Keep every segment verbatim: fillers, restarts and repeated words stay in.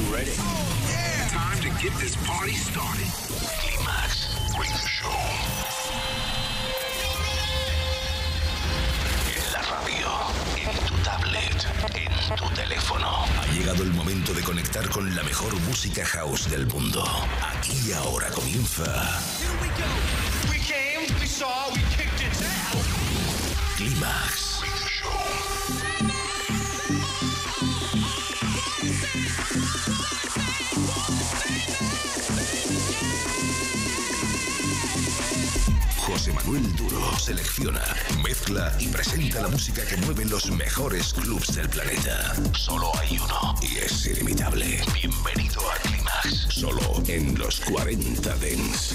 ready? Oh, yeah. Time to get this party started. Climax Radio Show. En la radio, en tu tablet, en tu teléfono. Ha llegado el momento de conectar con la mejor música house del mundo. Aquí y ahora comienza. Here we go. We came, we saw, we kicked its ass. Climax Radio Show. José Manuel Duro selecciona, mezcla y presenta la música que mueve los mejores clubs del planeta. Solo hay uno y es ilimitable. Bienvenido a Climax, solo en los cuarenta Dance.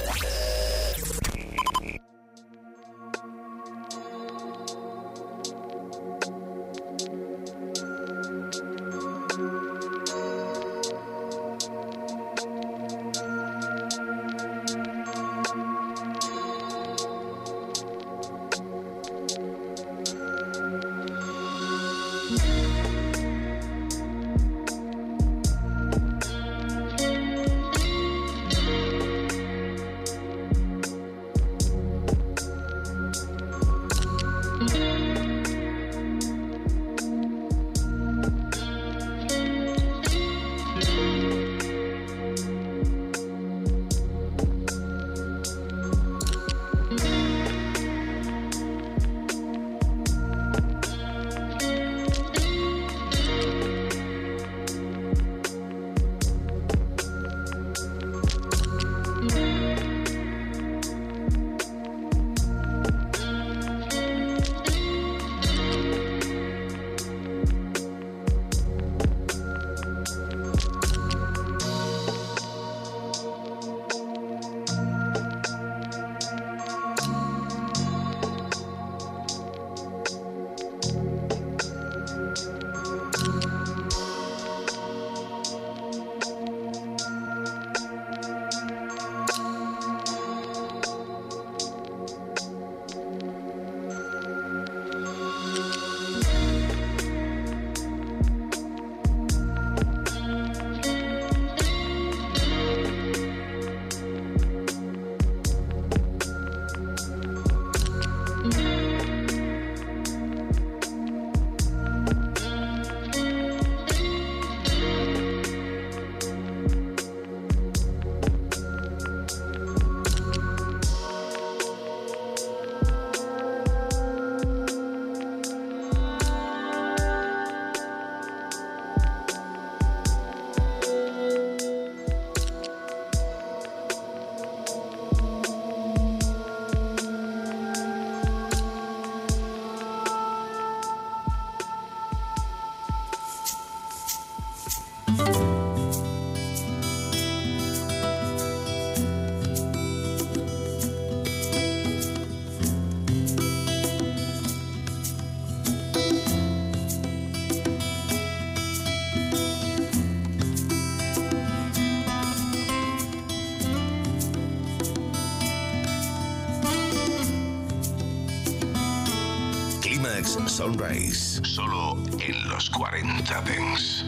Sunrise, solo en los cuarenta Dance.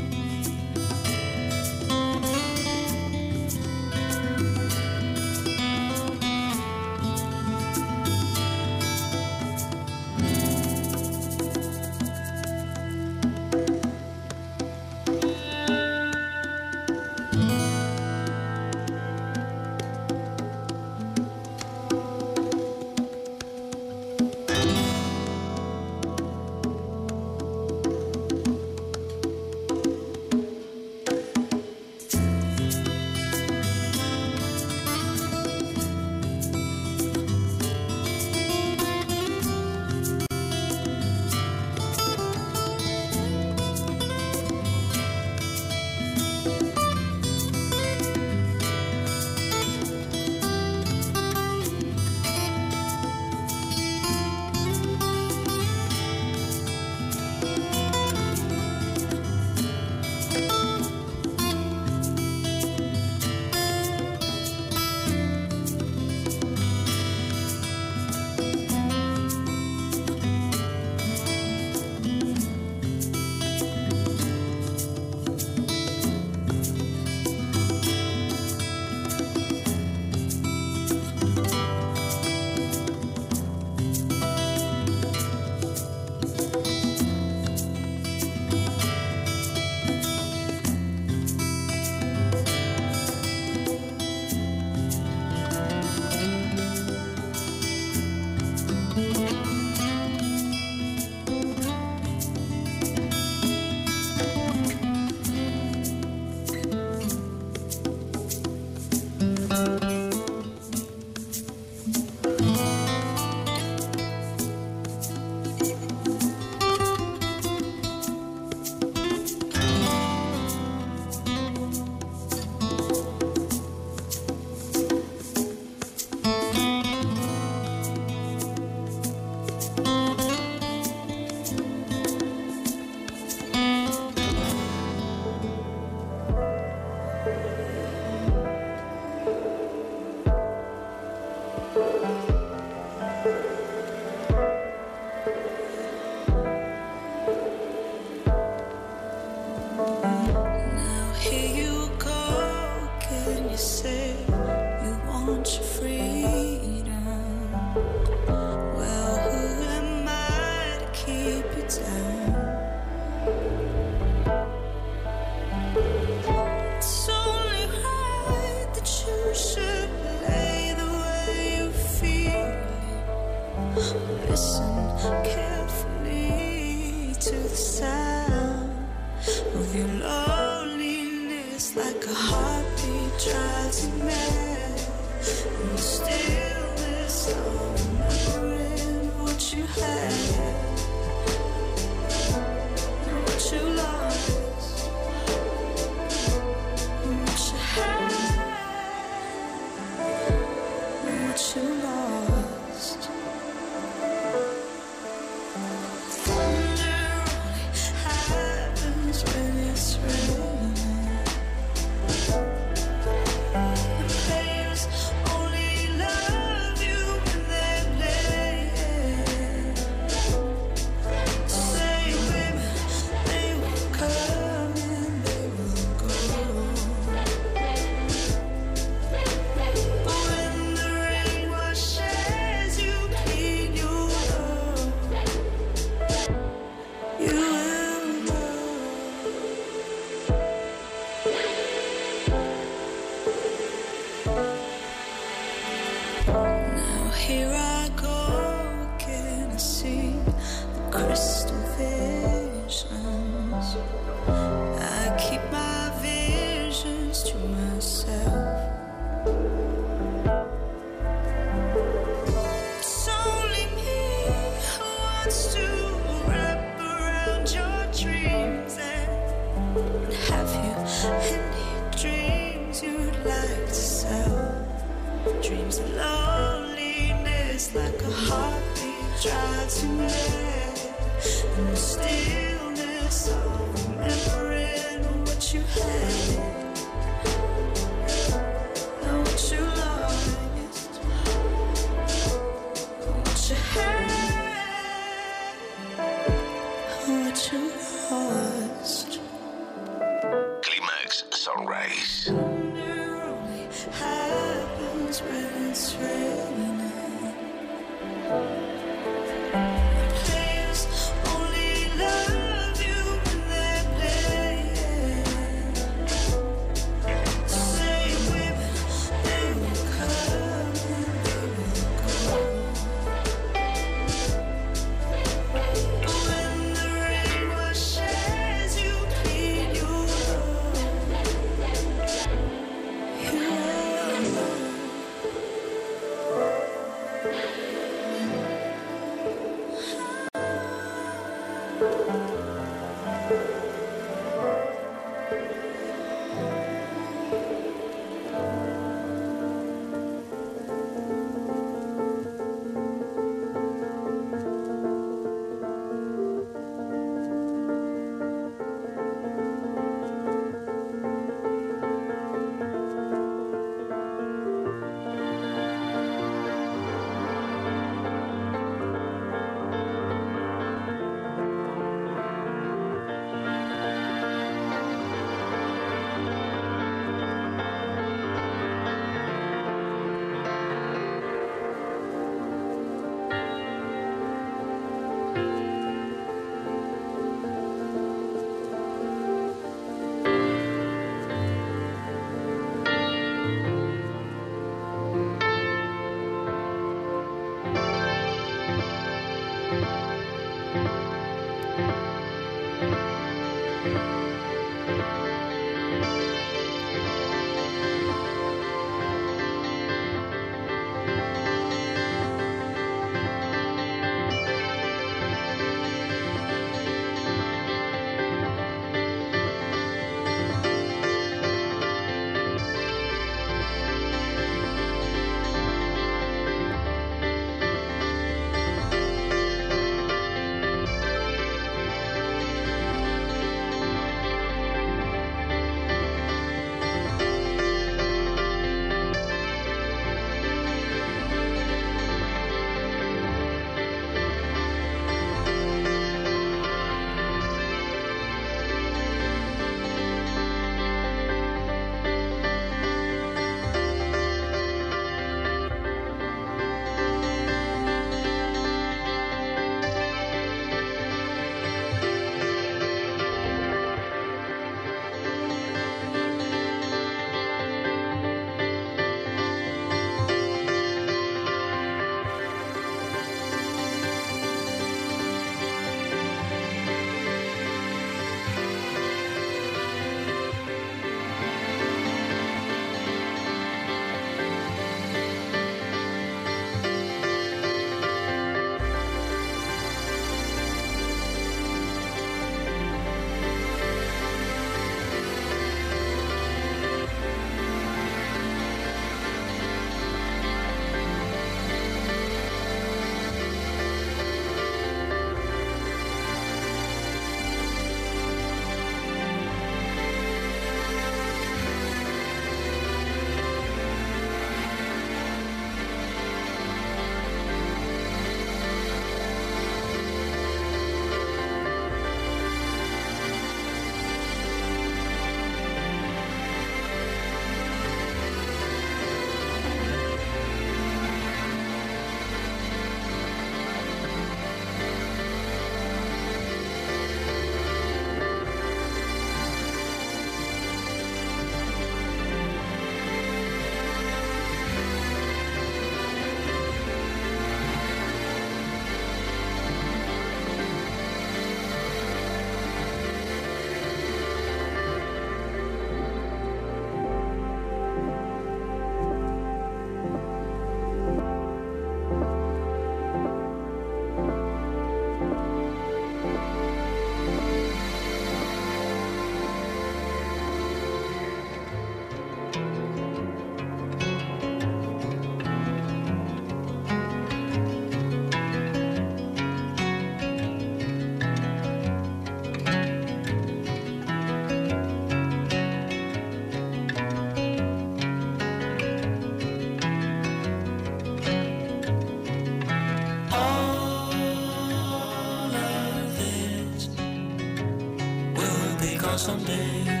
gone someday.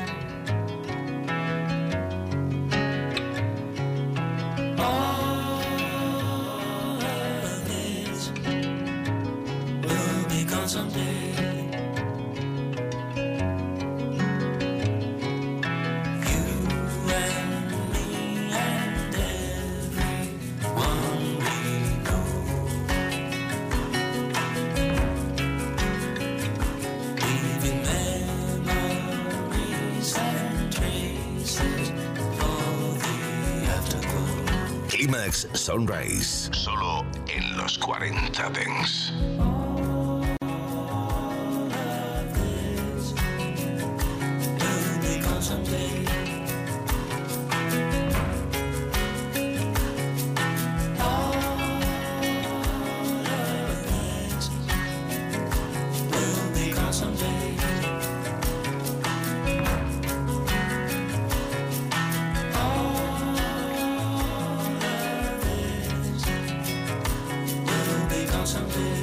All of this will be gone someday. You and me and everyone we know. Leaving memories and traces for the afterglow. Climax Sunrise, solo en los cuarenta Dance. Will be gone someday. All of this will be gone someday. All of this will be gone someday.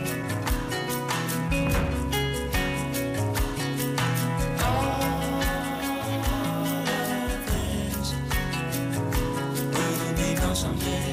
Will be gone someday.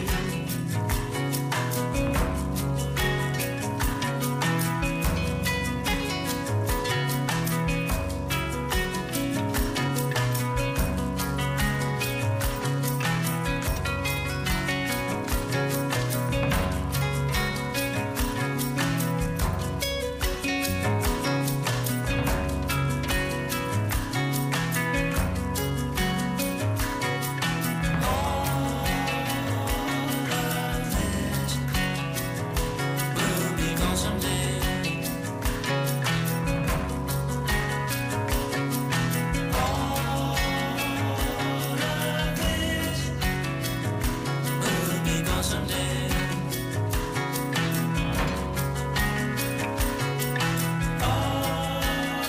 Will be gone someday. All of this will be gone someday. All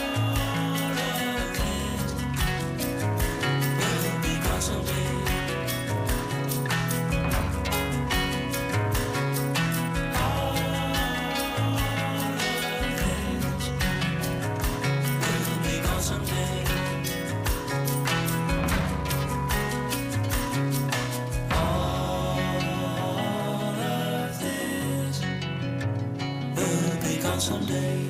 of this will be gone someday. Will be gone someday. All of this will be gone someday.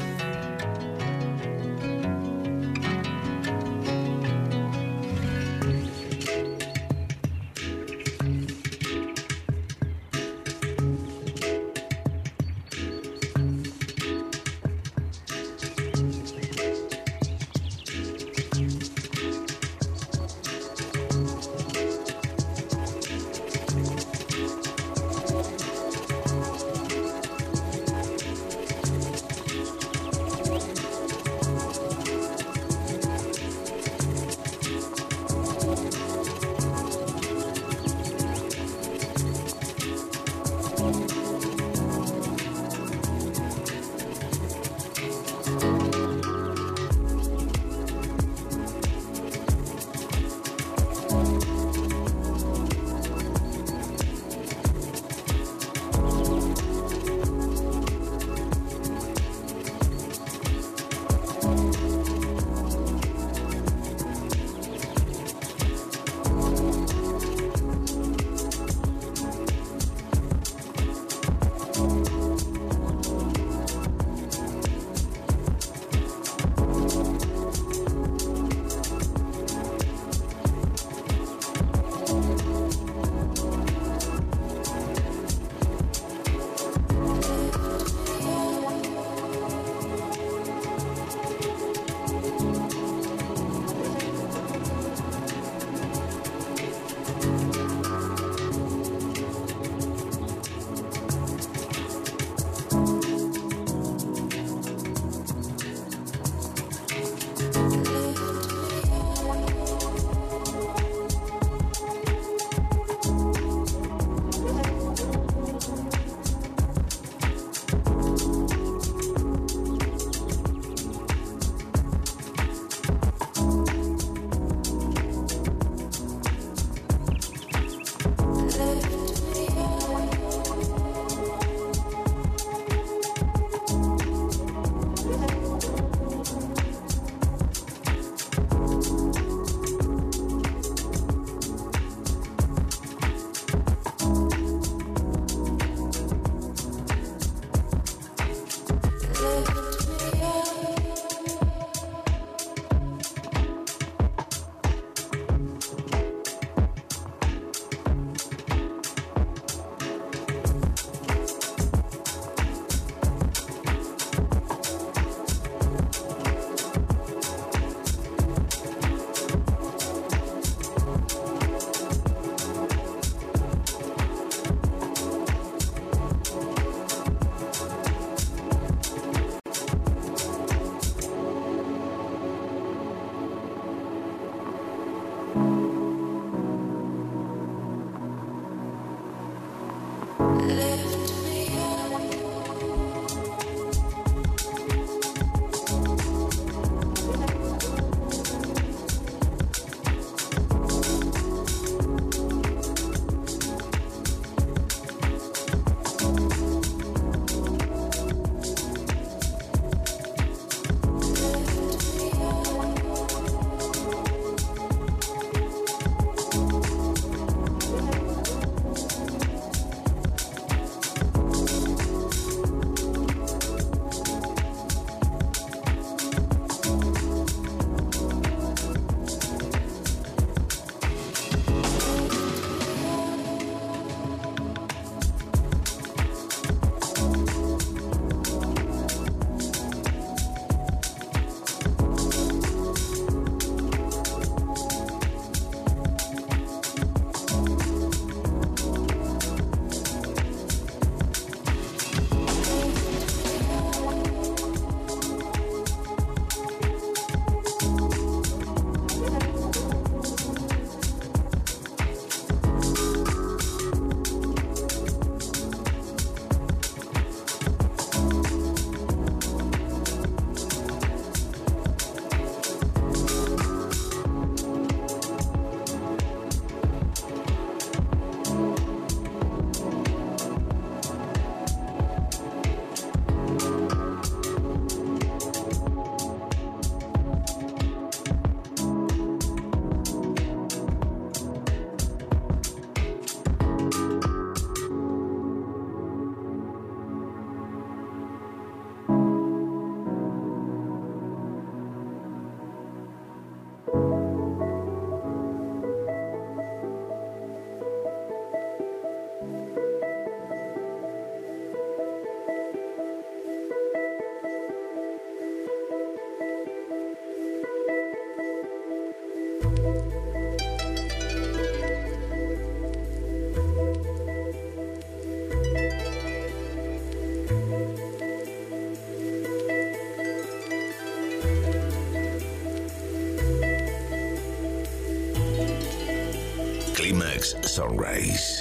Climax Sunrise.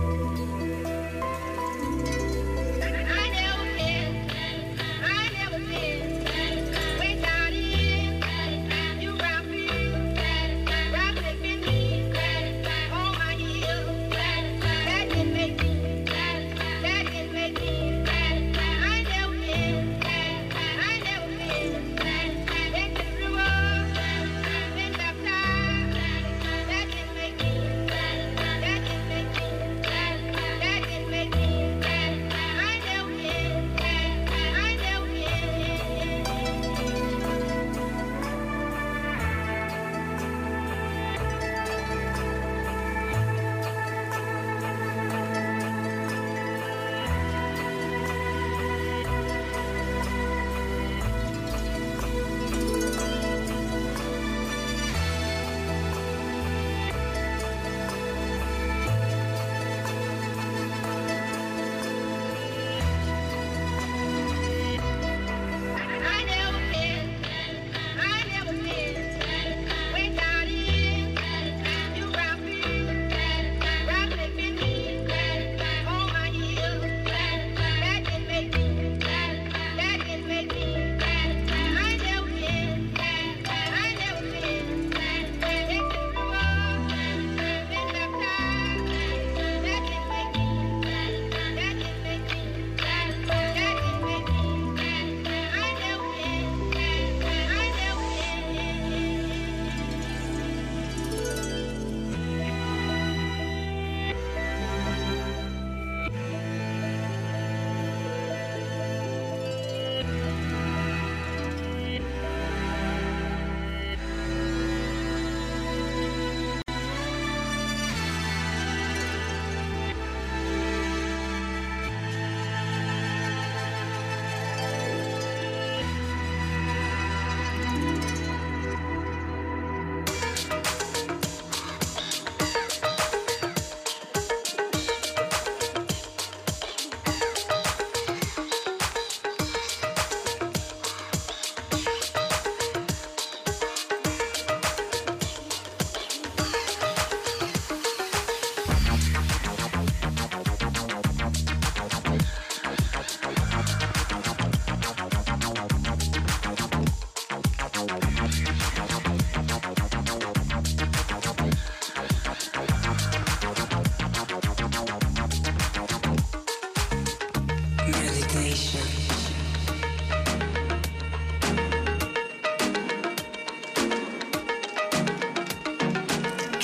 I never cared. I never cared.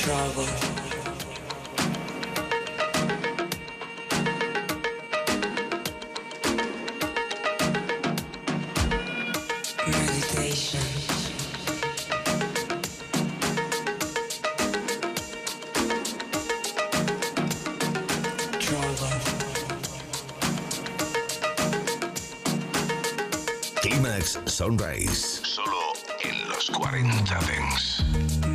Trouble. Meditation. Climax Sunrise, solo en los cuarenta Dance.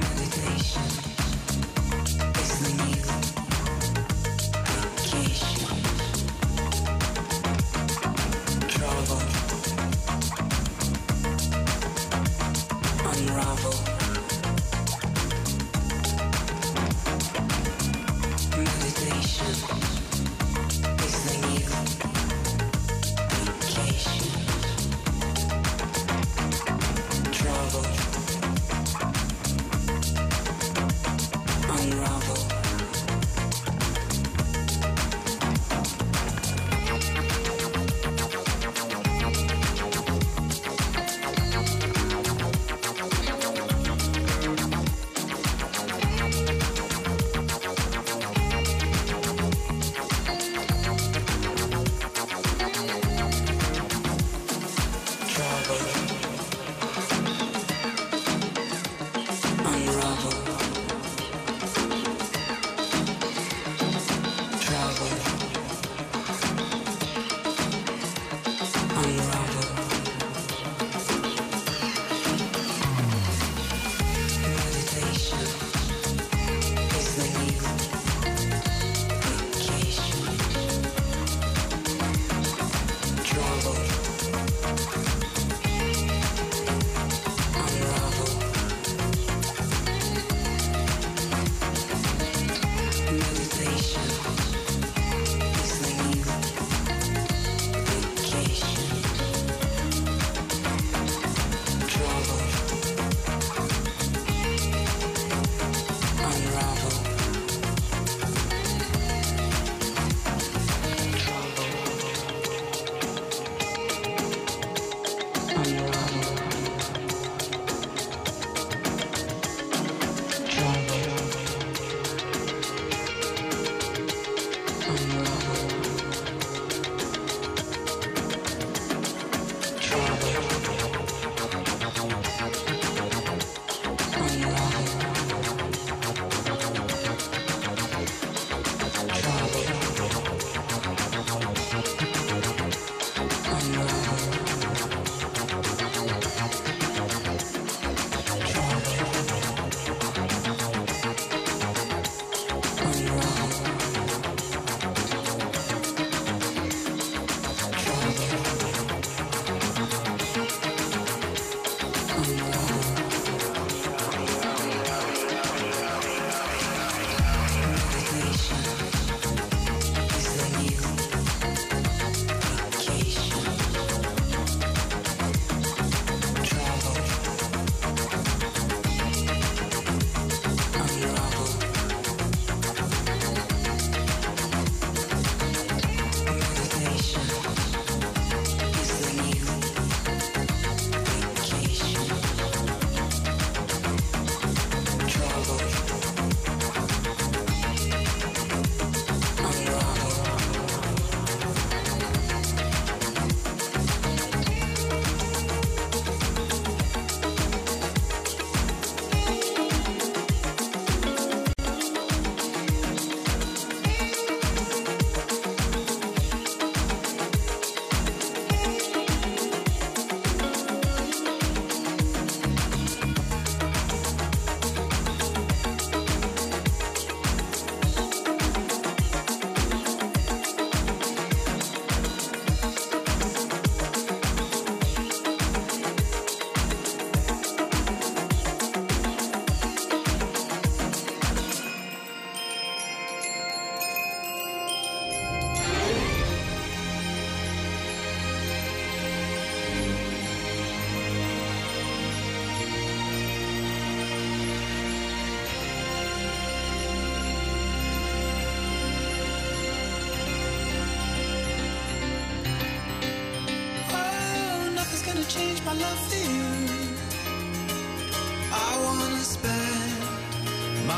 change my love for you. I wanna spend my life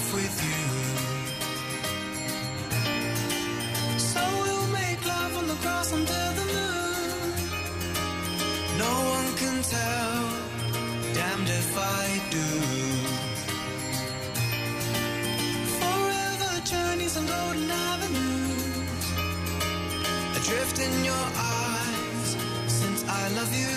life with you. So we'll make love on the grass under the moon. No one can tell, damned if I do. Forever journeys on golden avenues, adrift in your eyes since I love you.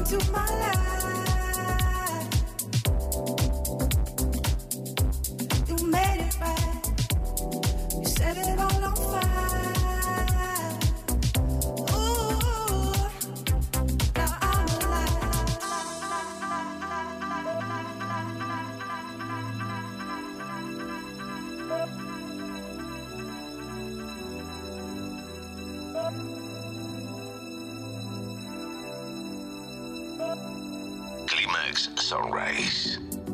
Climax Sunrise.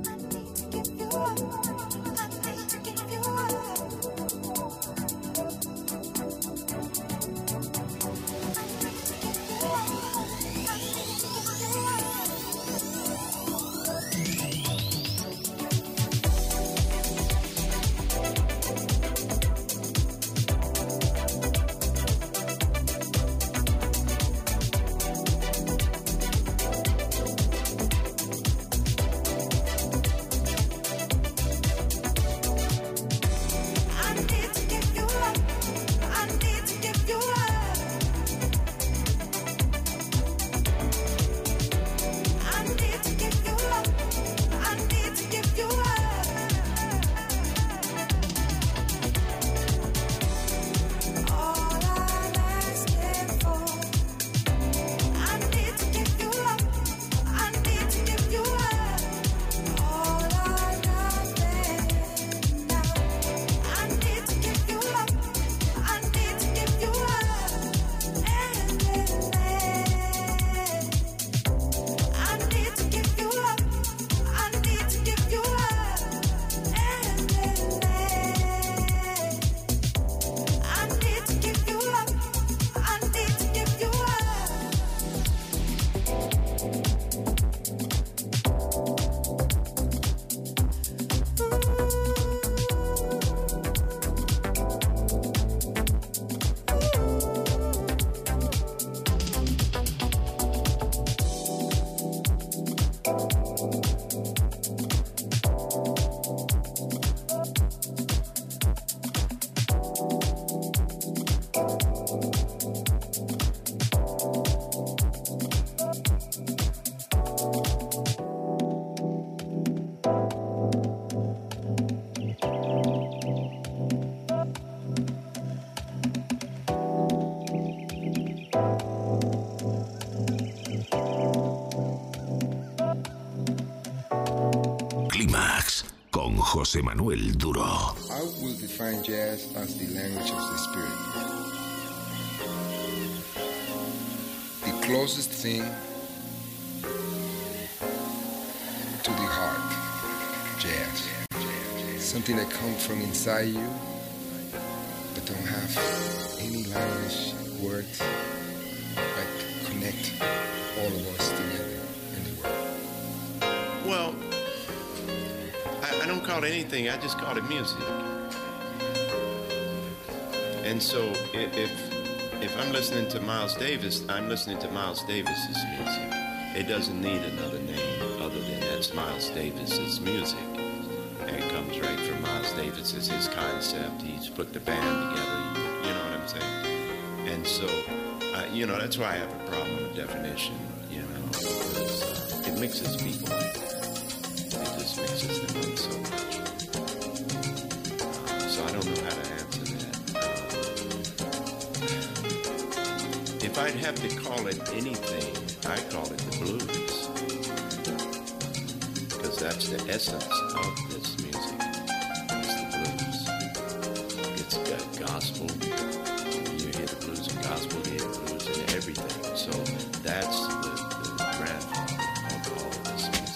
José Manuel Duro. I will define jazz as the language of the spirit. The closest thing to the heart, jazz. Something that comes from inside you, but don't have any language, words, that connect all of us together in the world. Well, I don't call it anything, I just call it music. And so if if I'm listening to Miles Davis, I'm listening to Miles Davis's music. It doesn't need another name other than that's Miles Davis's music. And it comes right from Miles Davis. It's his concept. He's put the band together, you know what I'm saying? And so, uh, you know, that's why I have a problem with definition, you know, because uh, it mixes people. Mixes them up so much. Uh, so I don't know how to answer that. Uh, if I'd have to call it anything, I call it the blues. Because that's the essence of this music. It's the blues. It's got gospel. You hear the blues and gospel, you hear the blues and everything. So that's the, the grandfather of all of this music.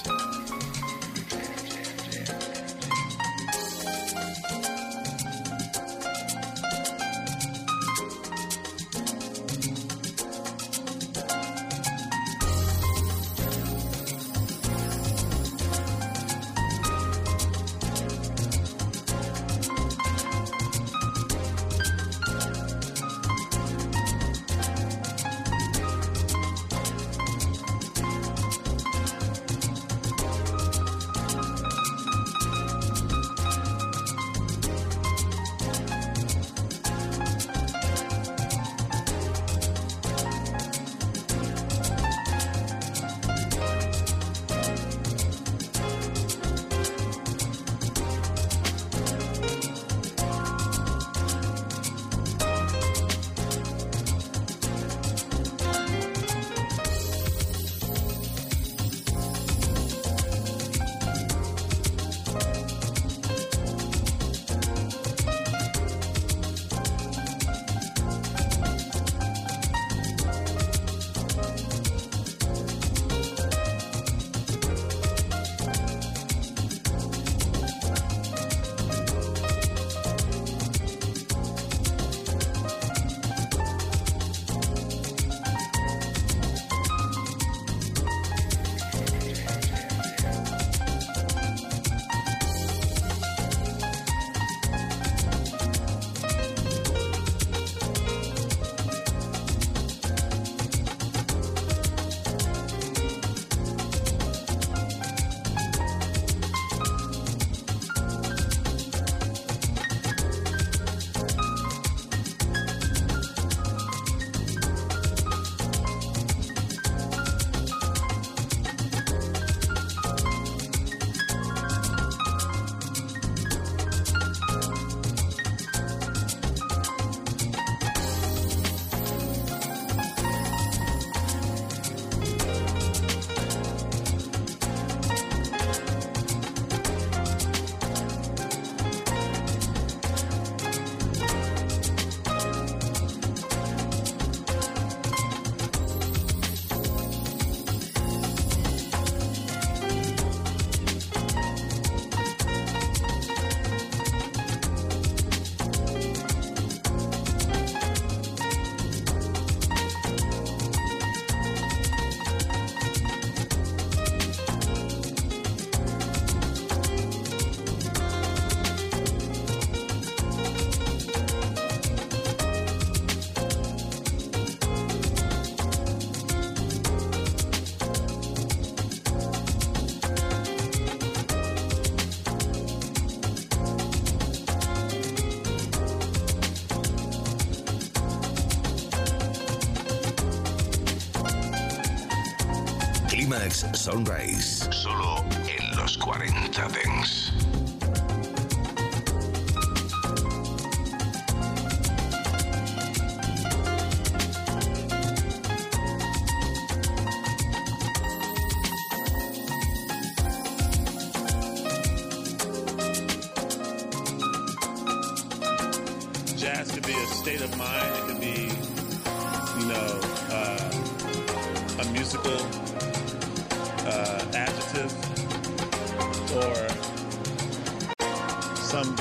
Climax Sunrise, solo en los cuarenta Dance. Jazz could be a state of mind. It could be, you know, uh, a musical uh, adjective, or some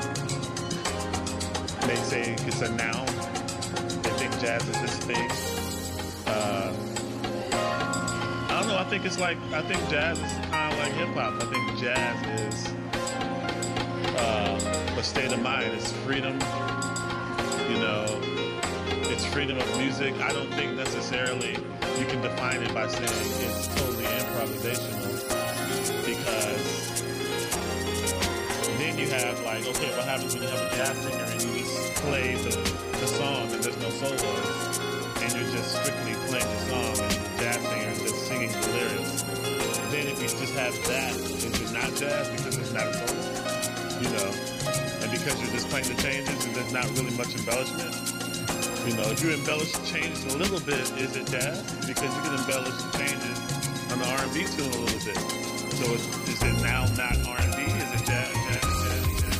may say it's a noun. They think jazz is this thing. Uh, I don't know. I think it's like, I think jazz is kind of like hip hop. I think jazz is uh, a state of mind. It's freedom. You know, it's freedom of music. I don't think necessarily you can define it by saying it's totally improvisational, because then you have like, okay, what happens when you have a jazz singer and you just play the, the song and there's no solos, and you're just strictly playing the song and the jazz singer is just singing the lyrics. Then if you just have that, is it not jazz because it's not a solo? You know? And because you're just playing the changes and there's not really much embellishment. You know, if you embellish the changes a little bit, is it jazz? Because you can embellish the changes on the R and B tune a little bit. So is, is it now not R and B? Is it jazz? jazz, jazz, jazz, jazz,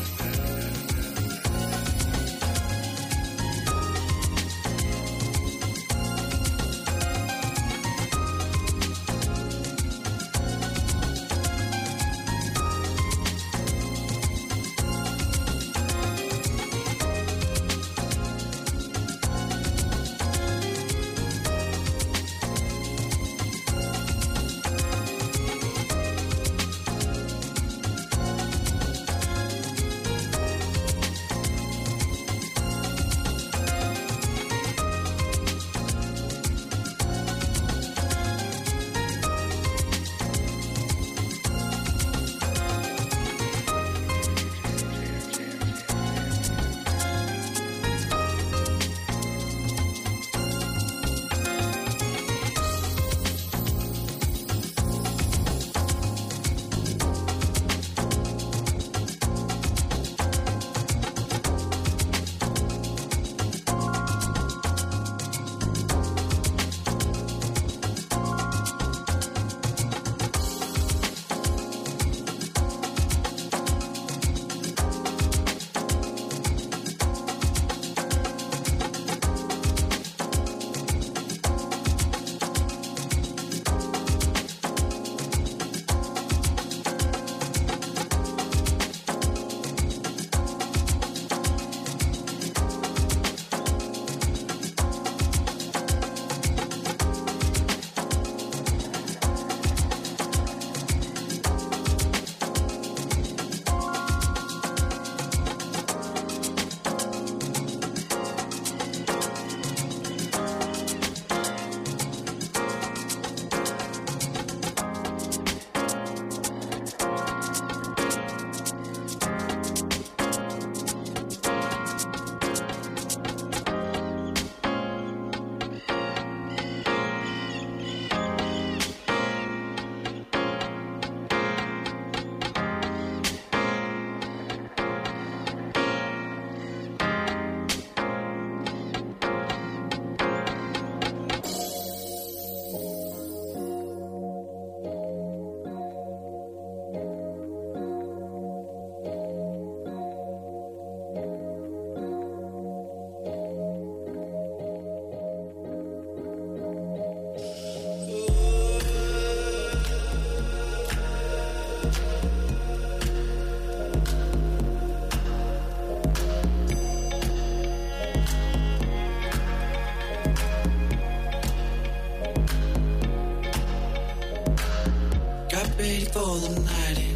ready for the night in.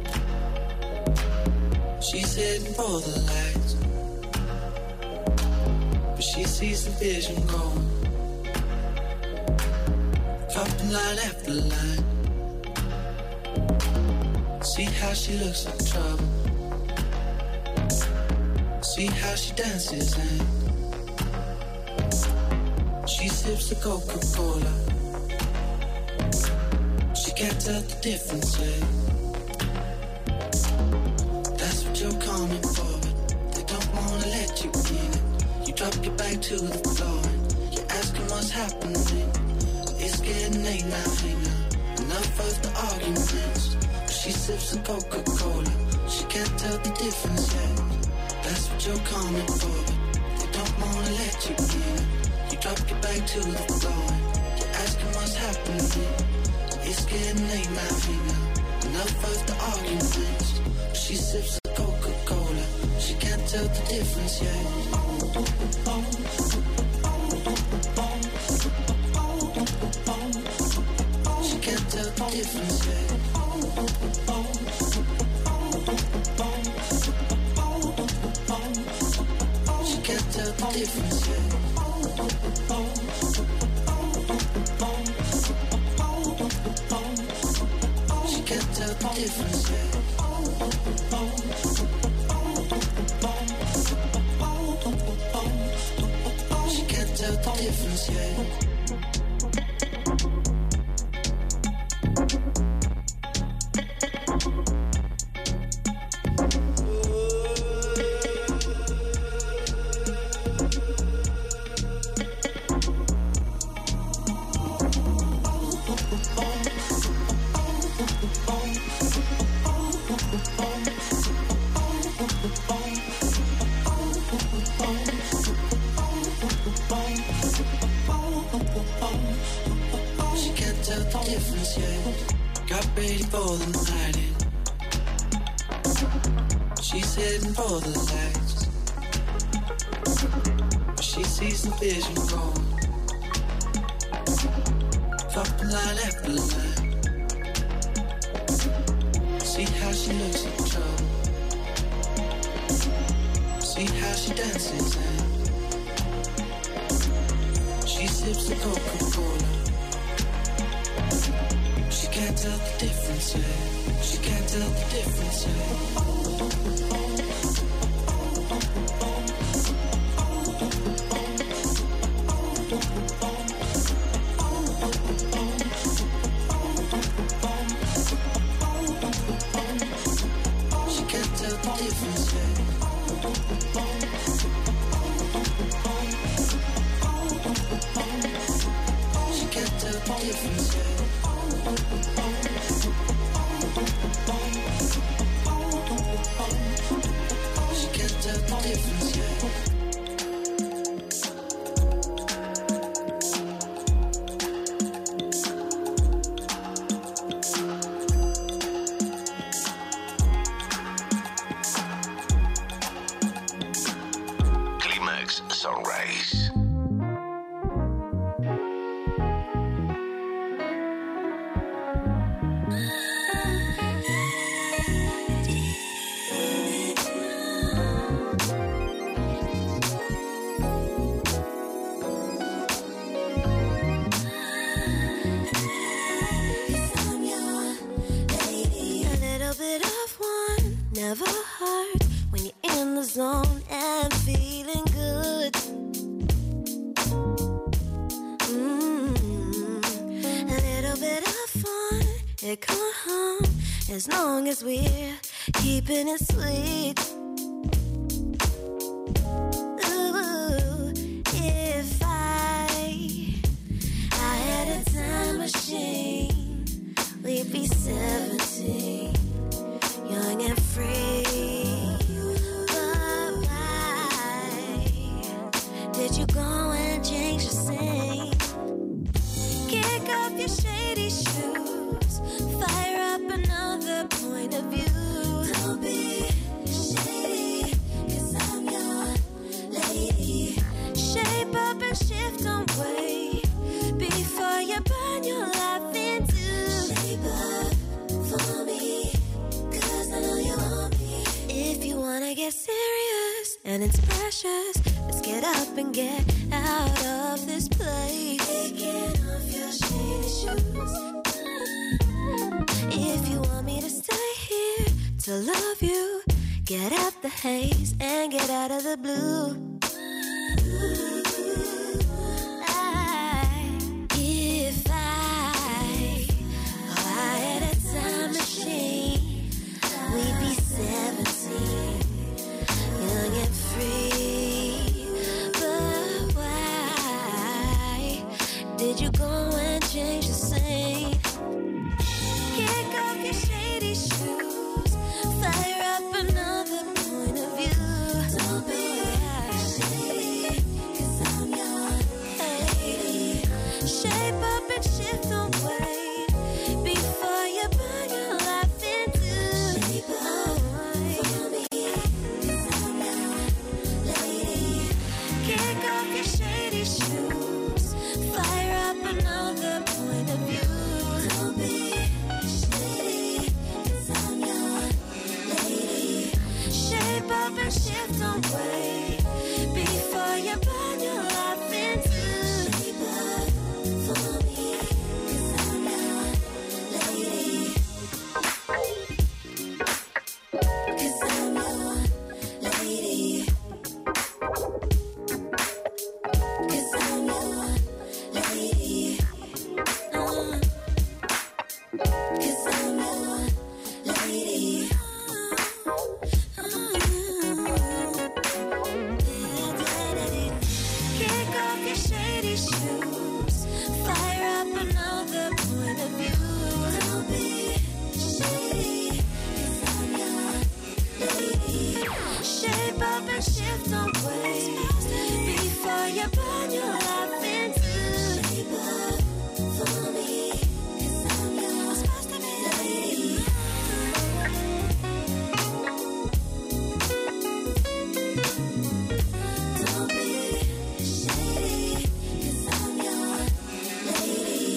She's heading for the lights, but she sees the vision going, dropping line after line. See how she looks like trouble, see how she dances and she sips the Coca-Cola. can't tell the difference yet. That's what you're coming for, but they don't wanna let you in it. You drop your back to the floor and you're asking what's happening. It's getting late now, hey now. Enough of the arguments. She sips a Coca-Cola. She can't tell the difference yet. That's what you're coming for, but they don't wanna let you in. You drop your back to the floor. You're asking what's happening. It's getting late now, hey now. Enough of the arguments. She sips a Coca-Cola. She can't tell the difference yet. She can't tell the difference yet. She can't tell the difference yet. She can't tell the difference yet. She can't tell the difference yet. Vision gone. Dropping line after line. See how she looks at trouble. See how she dances and she sips the Coca-Cola. She can't tell the difference yet. She can't tell the difference yet. As long as we're keeping it sweet. Ooh, if I I had a time machine, we'd be seventeen, young and free. But why did you go and change your scene? Kick off your shady shoes, fire up another point of view. Don't be shady, 'cause I'm your lady. Shape up and shift on way before you burn your life into. Shape up for me, 'cause I know you want me. If you wanna get serious and it's precious, let's get up and get out of this place. Taking off your shady shoes. If you want me to stay here to love you, get out the haze and get out of the blue. I, if I, oh, I and shift, don't wait before you burn your life into paper for me, 'cause I'm your lady, 'cause I'm your lady, 'cause I'm your lady, uh, 'cause I'm your lady. Kick off your shady shoes, fire up another point of view. Don't be shady, 'cause I'm your lady. Shape up and shift, don't wait before you burn your life into paper for me, 'cause I'm your lady. Don't be shady, 'cause I'm your lady.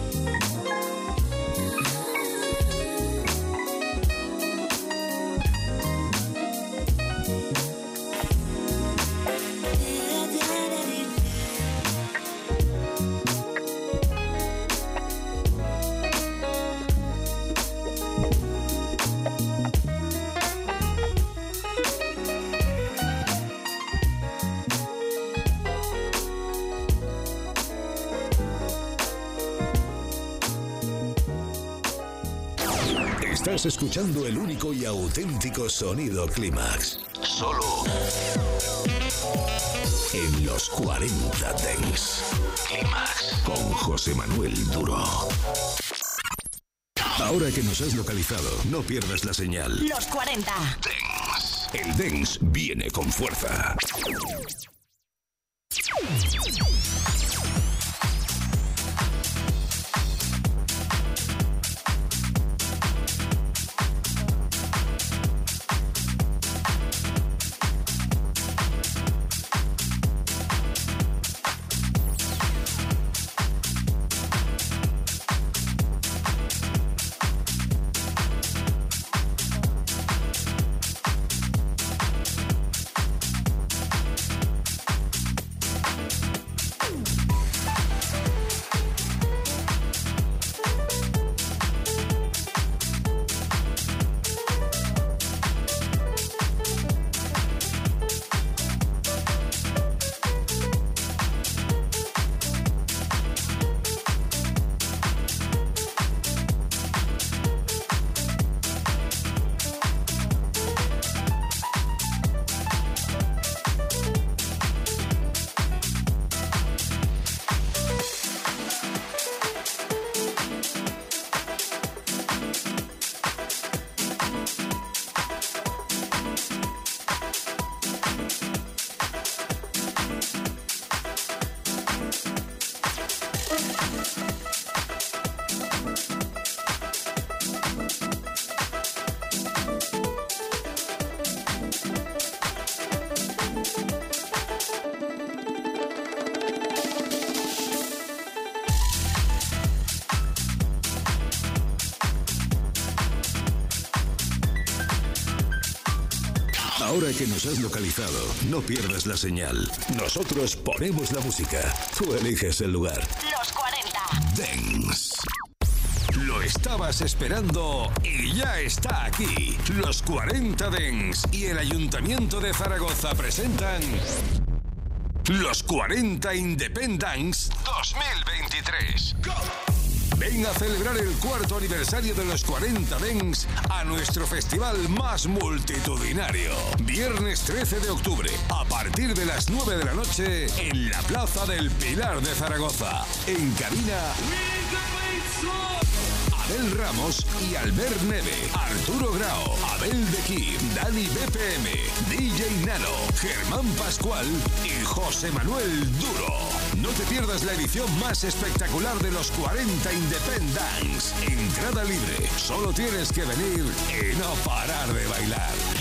Estás escuchando el único y auténtico sonido Clímax. Solo en los cuarenta Dance. Clímax con José Manuel Duro. Ahora que nos has localizado, no pierdas la señal. Los cuarenta. Dance. El Dance viene con fuerza. Ahora que nos has localizado, no pierdas la señal. Nosotros ponemos la música. Tú eliges el lugar. Los cuarenta. Dance. Lo estabas esperando y ya está aquí. Los cuarenta Dance y el Ayuntamiento de Zaragoza presentan Los cuarenta Independence dos mil veintitrés. ¡Go! Ven a celebrar el cuarto aniversario de los cuarenta Dance a nuestro festival más multitudinario. Viernes trece de octubre, a partir de las nueve de la noche, en la Plaza del Pilar de Zaragoza. En cabina, Abel Ramos y Albert Neve, Arturo Grao, Abel de Kim, Dani B P M, D J Nano, Germán Pascual y José Manuel Duro. No te pierdas la edición más espectacular de los cuarenta Independence. Entrada libre, solo tienes que venir y no parar de bailar.